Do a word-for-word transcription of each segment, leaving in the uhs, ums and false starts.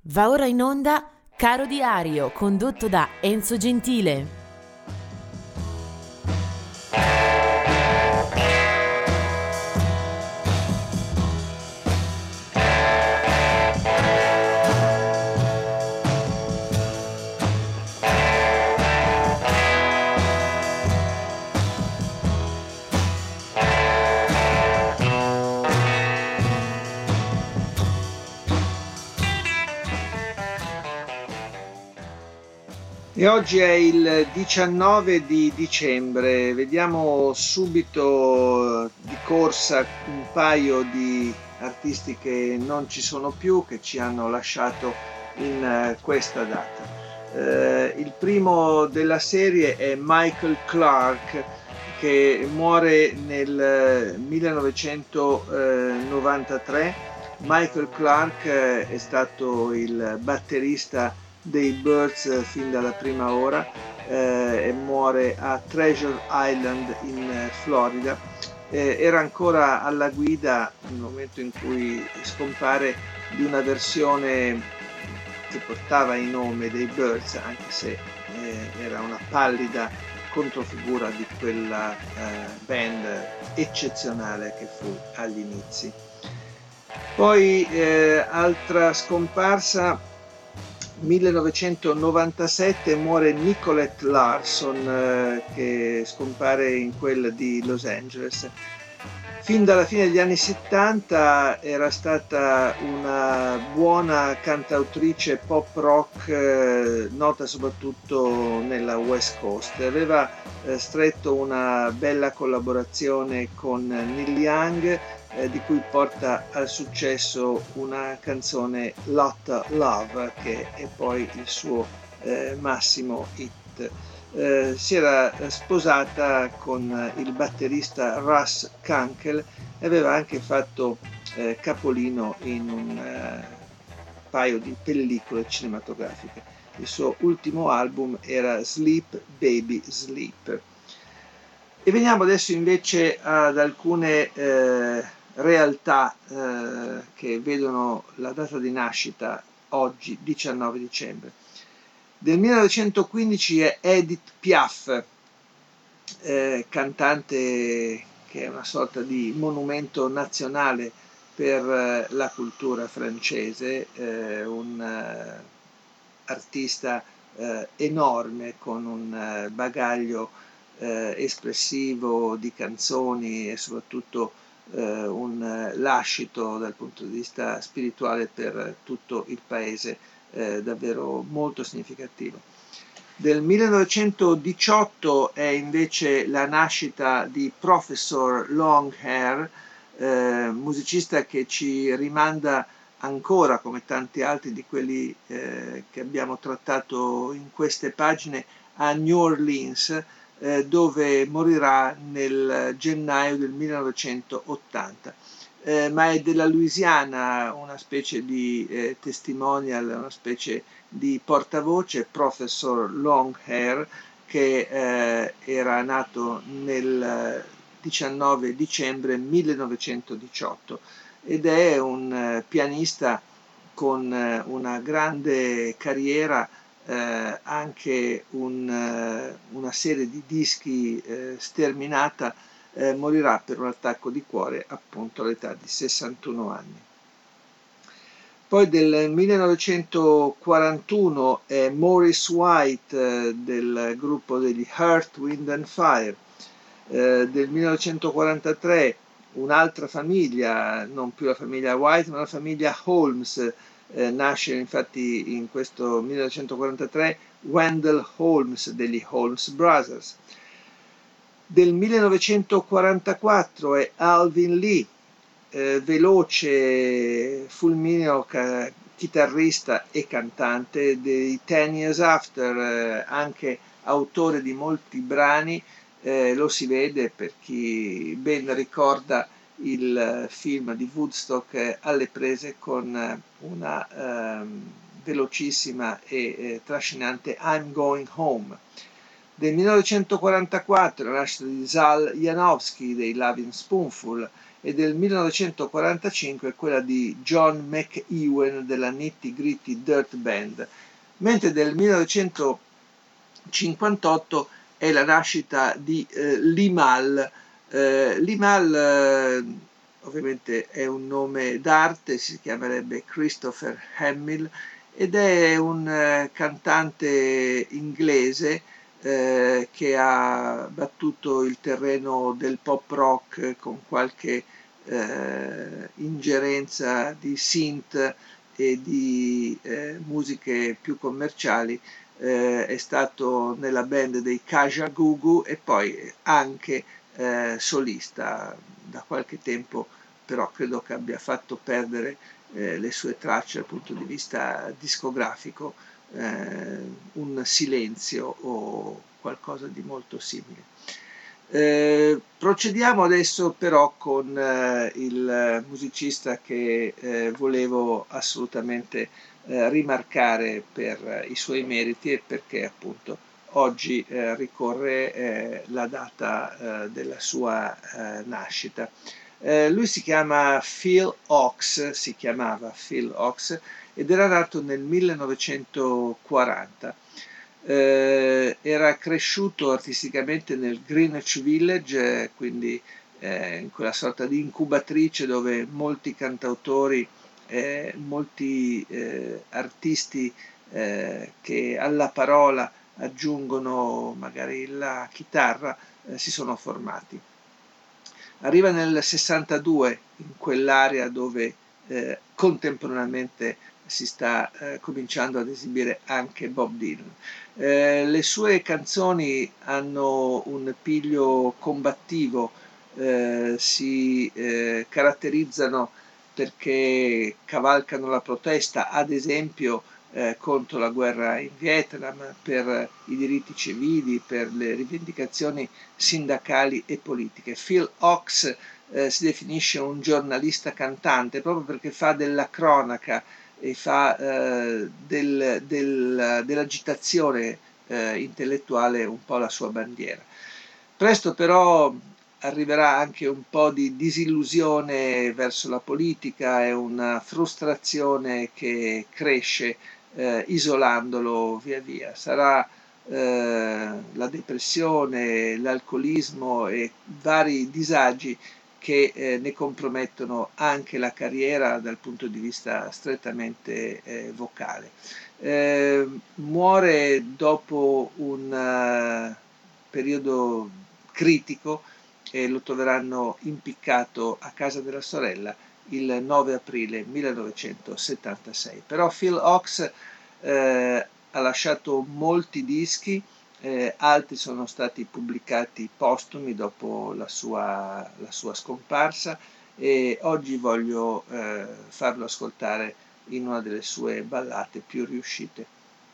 Va ora in onda Caro Diario, condotto da Enzo Gentile. E oggi è il diciannove di dicembre, vediamo subito di corsa un paio di artisti che non ci sono più, che ci hanno lasciato in questa data. Eh, il primo della serie è Michael Clarke, che muore nel millenovecentonovantatré. Michael Clarke è stato il batterista dei Byrds fin dalla prima ora eh, e muore a Treasure Island in Florida. Eh, era ancora alla guida nel momento in cui scompare di una versione che portava il nome dei Byrds, anche se eh, era una pallida controfigura di quella eh, band eccezionale che fu agli inizi. Poi eh, altra scomparsa, millenovecentonovantasette muore Nicolette Larson, eh, che scompare in quel di Los Angeles. Fin dalla fine degli anni settanta era stata una buona cantautrice pop rock, eh, nota soprattutto nella West Coast. Aveva eh, stretto una bella collaborazione con Neil Young, eh, di cui porta al successo una canzone Lotta Love, che è poi il suo eh, massimo hit. Eh, si era sposata con il batterista Russ Kunkel e aveva anche fatto eh, capolino in un eh, paio di pellicole cinematografiche. Il suo ultimo album era Sleep Baby Sleep. E veniamo adesso invece ad alcune eh, realtà eh, che vedono la data di nascita oggi, diciannove dicembre. Del millenovecentoquindici è Edith Piaf, eh, cantante che è una sorta di monumento nazionale per eh, la cultura francese, eh, un eh, artista eh, enorme con un eh, bagaglio eh, espressivo di canzoni e soprattutto eh, un eh, lascito dal punto di vista spirituale per tutto il paese, eh, davvero molto significativo. Del millenovecentodiciotto è invece la nascita di Professor Longhair, eh, musicista che ci rimanda ancora, come tanti altri di quelli eh, che abbiamo trattato in queste pagine, a New Orleans, eh, dove morirà nel gennaio del millenovecentottanta. Eh, ma è della Louisiana, una specie di eh, testimonial, una specie di portavoce, Professor Longhair, che eh, era nato nel diciannove dicembre millenovecentodiciotto ed è un eh, pianista con eh, una grande carriera, eh, anche un, eh, una serie di dischi eh, sterminata. Eh, morirà per un attacco di cuore appunto all'età di sessantuno anni. Poi del millenovecentoquarantuno è Maurice White, eh, del gruppo degli Earth, Wind and Fire. Eh, del millenovecentoquarantatré un'altra famiglia, non più la famiglia White ma la famiglia Holmes, eh, nasce infatti in questo millenovecentoquarantatré Wendell Holmes degli Holmes Brothers. Del millenovecentoquarantaquattro è Alvin Lee, eh, veloce, fulmineo ca- chitarrista e cantante dei Ten Years After, eh, anche autore di molti brani, eh, lo si vede per chi ben ricorda il film di Woodstock eh, alle prese con eh, una ehm, velocissima e eh, trascinante I'm Going Home. Del millenovecentoquarantaquattro la nascita di Zal Janowski dei Lovin' Spoonful e del millenovecentoquarantacinque quella di John McEwen della Nitty Gritty Dirt Band, mentre del millenovecentocinquantotto è la nascita di eh, Limahl. Eh, Limahl eh, ovviamente è un nome d'arte, si chiamerebbe Christopher Hamill, ed è un eh, cantante inglese eh, che ha battuto il terreno del pop rock con qualche eh, ingerenza di synth e di eh, musiche più commerciali. Eh, è stato nella band dei Kajagoogoo e poi anche eh, solista da qualche tempo, però credo che abbia fatto perdere eh, le sue tracce dal punto di vista discografico, eh, un silenzio o qualcosa di molto simile. Eh, procediamo adesso però con eh, il musicista che eh, volevo assolutamente eh, rimarcare per i suoi meriti e perché appunto oggi eh, ricorre eh, la data eh, della sua eh, nascita. Eh, lui si chiama Phil Ochs, si chiamava Phil Ochs ed era nato nel millenovecentoquaranta. Eh, era cresciuto artisticamente nel Greenwich Village, eh, quindi eh, in quella sorta di incubatrice dove molti cantautori, eh, molti eh, artisti eh, che alla parola aggiungono magari la chitarra eh, si sono formati. Arriva nel sessantadue in quell'area dove eh, contemporaneamente si sta eh, cominciando ad esibire anche Bob Dylan. Eh, le sue canzoni hanno un piglio combattivo, eh, si eh, caratterizzano perché cavalcano la protesta, ad esempio eh, contro la guerra in Vietnam, per i diritti civili, per le rivendicazioni sindacali e politiche. Phil Ochs eh, si definisce un giornalista cantante proprio perché fa della cronaca e fa eh, del, del, dell'agitazione eh, intellettuale un po' la sua bandiera. Presto però arriverà anche un po' di disillusione verso la politica e una frustrazione che cresce eh, isolandolo via via. Sarà eh, la depressione, l'alcolismo e vari disagi che eh, ne compromettono anche la carriera dal punto di vista strettamente eh, vocale. Eh, muore dopo un uh, periodo critico e lo troveranno impiccato a casa della sorella il nove aprile millenovecentosettantasei. Però Phil Ochs eh, ha lasciato molti dischi, Eh, altri sono stati pubblicati postumi dopo la sua, la sua scomparsa e oggi voglio eh, farlo ascoltare in una delle sue ballate più riuscite.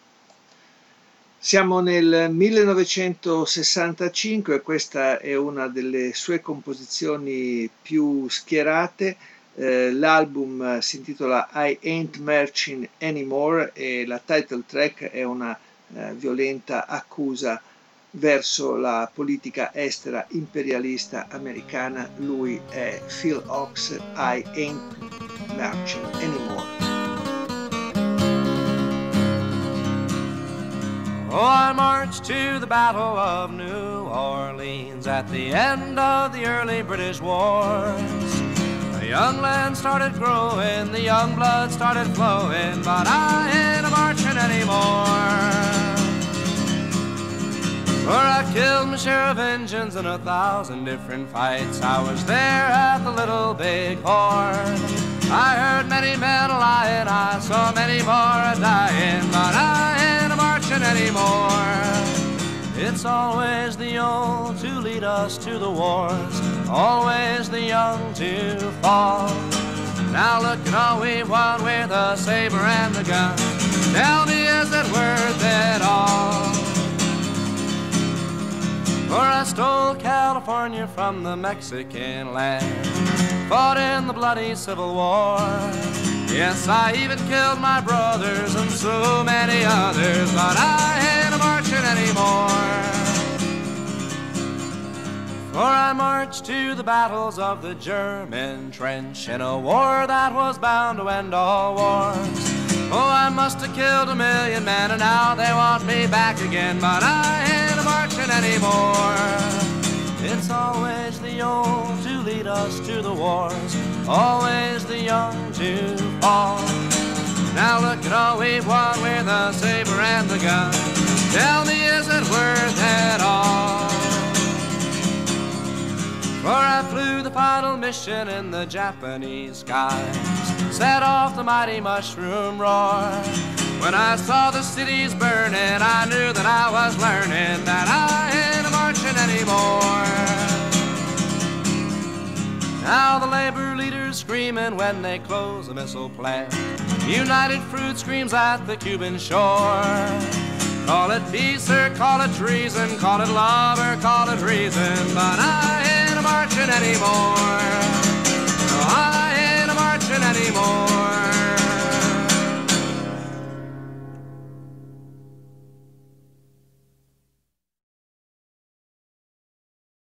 Siamo nel millenovecentosessantacinque e questa è una delle sue composizioni più schierate. Eh, l'album si intitola I Ain't Marching Anymore e la title track è una Eh, violenta accusa verso la politica estera imperialista americana. Lui è Phil Ochs, I Ain't Marching Anymore. Oh, I marched to the Battle of New Orleans at the end of the early British wars. The young land started growing, the young blood started flowing, but I ain't a marching anymore. For I killed my share of Injuns in a thousand different fights. I was there at the Little Big Horn. I heard many men lying, I saw many more a-dying, but I ain't a marching anymore. It's always the old to lead us to the wars, always the young to fall. Now look at all we've won with the saber and the gun. Tell me, is it worth it all? For I stole California from the Mexican land, fought in the bloody Civil War. Yes, I even killed my brothers and so many others, but I ain't a marching anymore. For I marched to the battles of the German trench in a war that was bound to end all wars. Oh, I must have killed a million men and now they want me back again, but I ain't marching anymore. It's always the old to lead us to the wars, always the young to fall. Now look at all we've won with the saber and the gun. Tell me, is it worth it all? For I flew the final mission in the Japanese skies, set off the mighty mushroom roar. When I saw the cities burning, I knew that I was learning that I ain't marching anymore. Now the labor leaders screaming when they close a missile plant. United Fruit screams at the Cuban shore. Call it peace or call it treason, call it love or call it reason, but I ain't marching anymore. No, I ain't marching anymore.